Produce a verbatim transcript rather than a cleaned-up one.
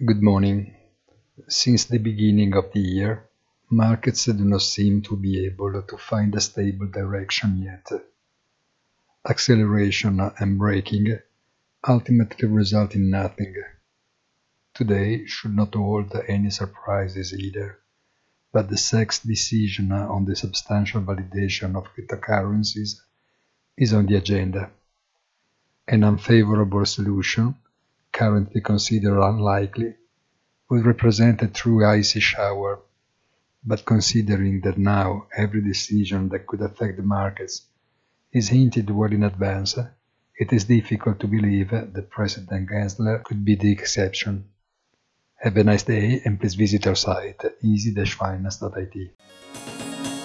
Good morning. Since the beginning of the year, markets do not seem to be able to find a stable direction yet. Acceleration and braking ultimately result in nothing. Today should not hold any surprises either, but the S E C's decision on the substantial validation of cryptocurrencies is on the agenda. An unfavorable solution, currently considered unlikely, would represent a true icy shower, but considering that now every decision that could affect the markets is hinted well in advance, it is difficult to believe that President Gensler could be the exception. Have a nice day and please visit our site easy dash finance dot I T.